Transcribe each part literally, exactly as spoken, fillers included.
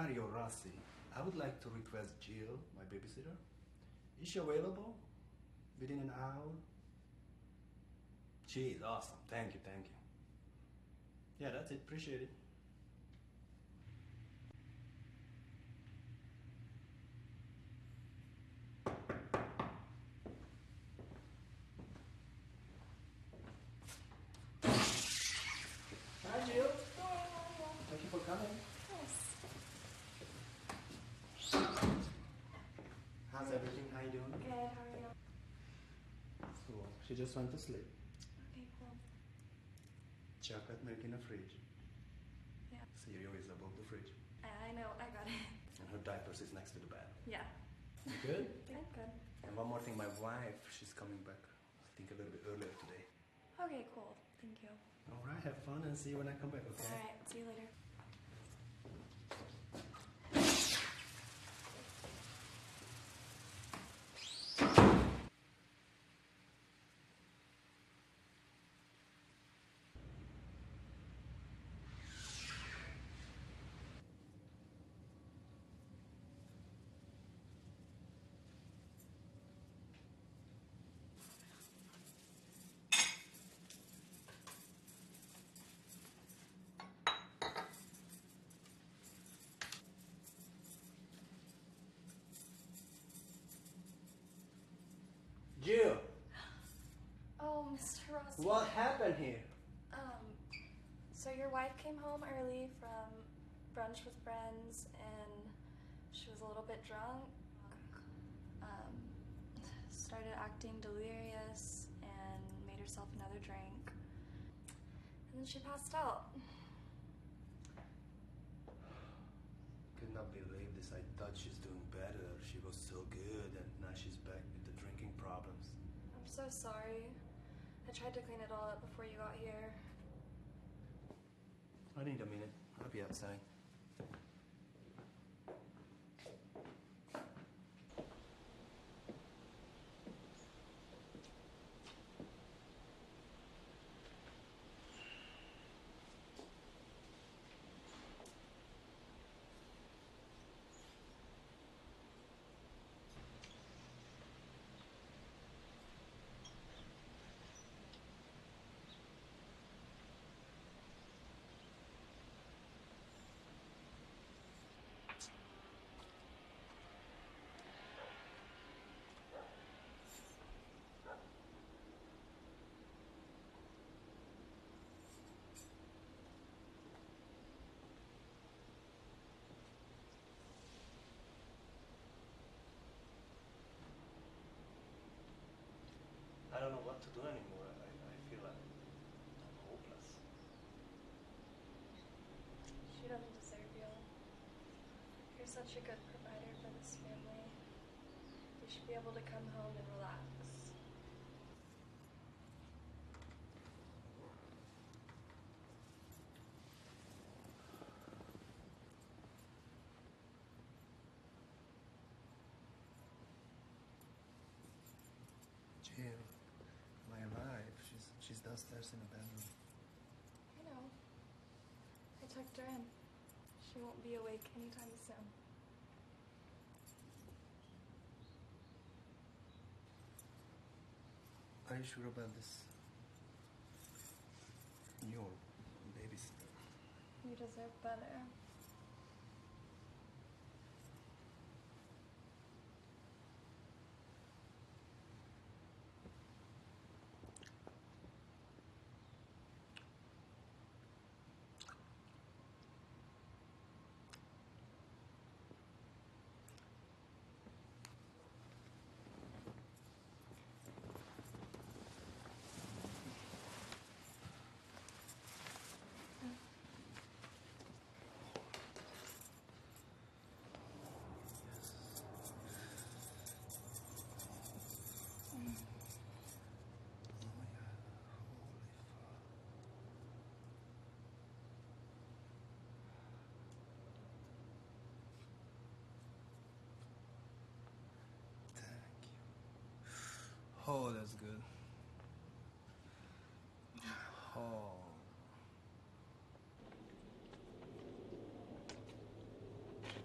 Mario Rossi. I would like to request Jill, my babysitter. Is she available within an hour? She is awesome. Thank you, thank you. Yeah, that's it. Appreciate it. Hi, Jill. Thank you for coming. How's everything? How you doing? Good, how are you? Cool. She just went to sleep. Okay, cool. Chocolate milk in the fridge. Yeah. Cereal is above the fridge. I know, I got it. And her diapers is next to the bed. Yeah. You good? I'm good. And one more thing, my wife, she's coming back, I think a little bit earlier today. Okay, cool. Thank you. Alright, have fun and see you when I come back, okay? Alright, see you later. Jill! Oh, Mister Rossi. What happened here? Um, so your wife came home early from brunch with friends and she was a little bit drunk. Um, started acting delirious and made herself another drink. And then she passed out. Could not believe this. I thought she's doing better. She was so good and now she's back with the drinking problems. I'm so sorry. I tried to clean it all up before you got here. I need a minute. I'll be outside. I don't know what to do anymore. I, I feel like I'm hopeless. She doesn't deserve you. You're such a good provider for this family. You should be able to come home and relax. Jill, my wife, she's, she's downstairs in the bedroom. I know. I tucked her in. She won't be awake anytime soon. Are you sure about this? Your babysitter. You deserve better. Oh, that's good. Oh.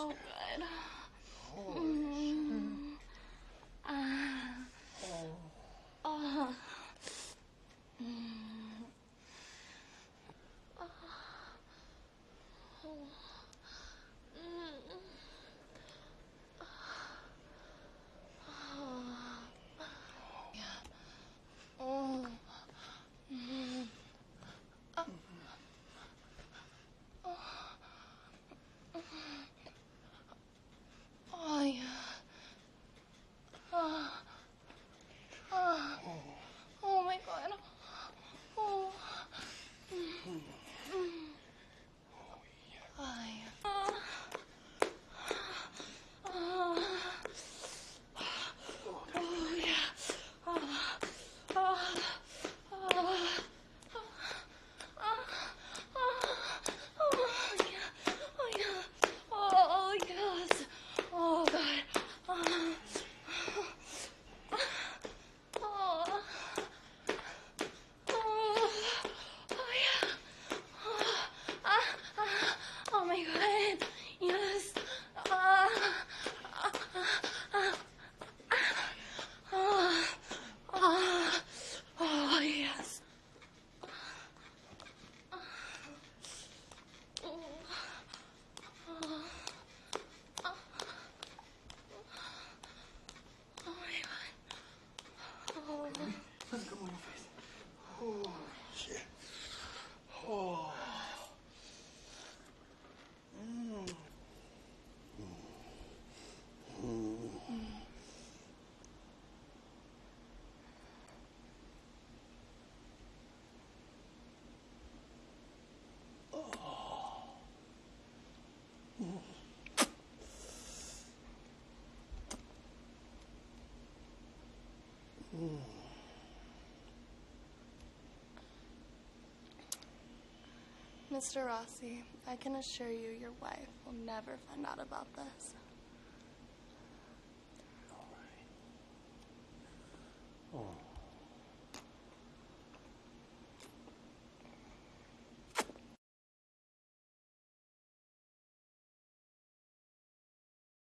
Oh, good. Holy Mm. Uh, oh. uh. Mm. Uh. Oh. Mm. Oh. Mm. Uh. Oh, yeah. Oh. Oh. Oh, my God. Oh. Mm. Mm. Oh, yeah. Oh. Oh. Oh, yeah. Oh. Oh. Oh. Oh, yeah. Oh, yeah. Oh, yes. Oh, God. Oh. Oh. Oh, oh, yeah. Oh, ah, ah, oh, my God. Yes. Ah, ah, ah, ah, ah, ah, oh, yes. Oh, oh, oh, oh, my God. Oh. Let's go on your face. Oh, shit. Oh. Mm. Mm. Oh. Mm. Mm. Mister Rossi, I can assure you your wife will never find out about this. All right. Oh.